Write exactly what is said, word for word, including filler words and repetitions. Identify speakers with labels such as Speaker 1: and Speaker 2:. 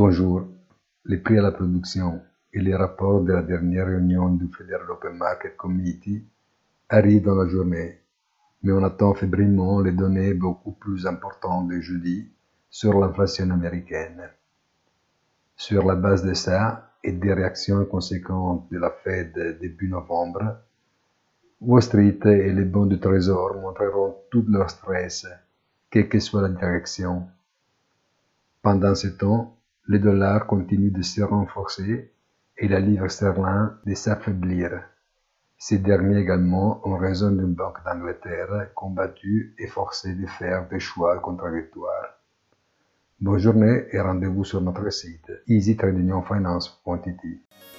Speaker 1: Bonjour. Les prix à la production et les rapports de la dernière réunion du Federal Open Market Committee arrivent dans la journée, mais on attend fébrilement les données beaucoup plus importantes de jeudi sur l'inflation américaine. Sur la base de ça et des réactions conséquentes de la Fed début novembre, Wall Street et les bons du Trésor montreront tout leur stress, quelle que soit la direction. Pendant ce temps, le dollar continue de se renforcer et la livre sterling de s'affaiblir. Ces derniers également en raison d'une banque d'Angleterre combattue et forcée de faire des choix contradictoires. Bonne journée et rendez-vous sur notre site easy trading finance point i t.